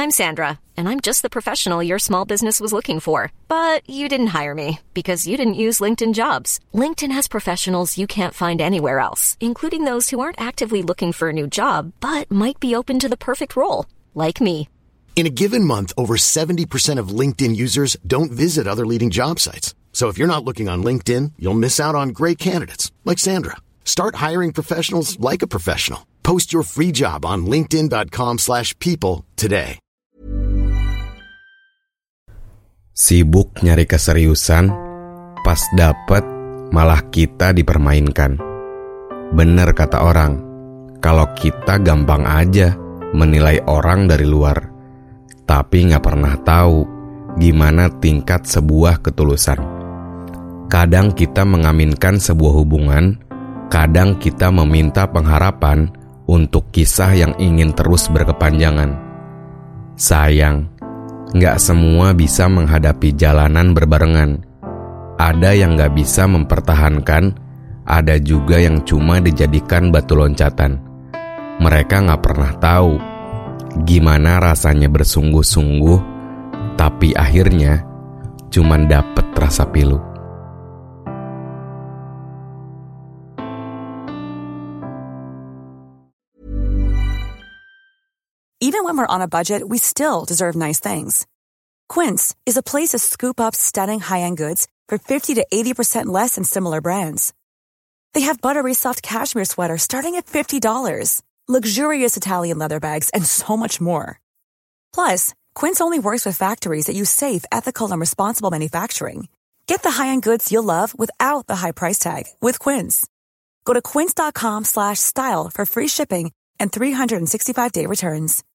I'm Sandra, and I'm just the professional your small business was looking for. But you didn't hire me because you didn't use LinkedIn Jobs. LinkedIn has professionals you can't find anywhere else, including those who aren't actively looking for a new job, but might be open to the perfect role, like me. In a given month, over 70% of LinkedIn users don't visit other leading job sites. So if you're not looking on LinkedIn, you'll miss out on great candidates like Sandra. Start hiring professionals like a professional. Post your free job on linkedin.com/people today. Sibuk nyari keseriusan, pas dapet malah kita dipermainkan. Bener kata orang, kalau kita gampang aja menilai orang dari luar, tapi gak pernah tahu gimana tingkat sebuah ketulusan. Kadang kita mengaminkan sebuah hubungan, kadang kita meminta pengharapan untuk kisah yang ingin terus berkepanjangan. Sayang, gak semua bisa menghadapi jalanan berbarengan. Ada yang gak bisa mempertahankan, ada juga yang cuma dijadikan batu loncatan. Mereka gak pernah tahu gimana rasanya bersungguh-sungguh, tapi akhirnya cuman dapet rasa pilu. Even when we're on a budget, we still deserve nice things. Quince is a place to scoop up stunning high-end goods for 50 to 80% less than similar brands. They have buttery soft cashmere sweaters starting at $50, luxurious Italian leather bags, and so much more. Plus, Quince only works with factories that use safe, ethical, and responsible manufacturing. Get the high-end goods you'll love without the high price tag with Quince. Go to quince.com/style for free shipping and 365-day returns.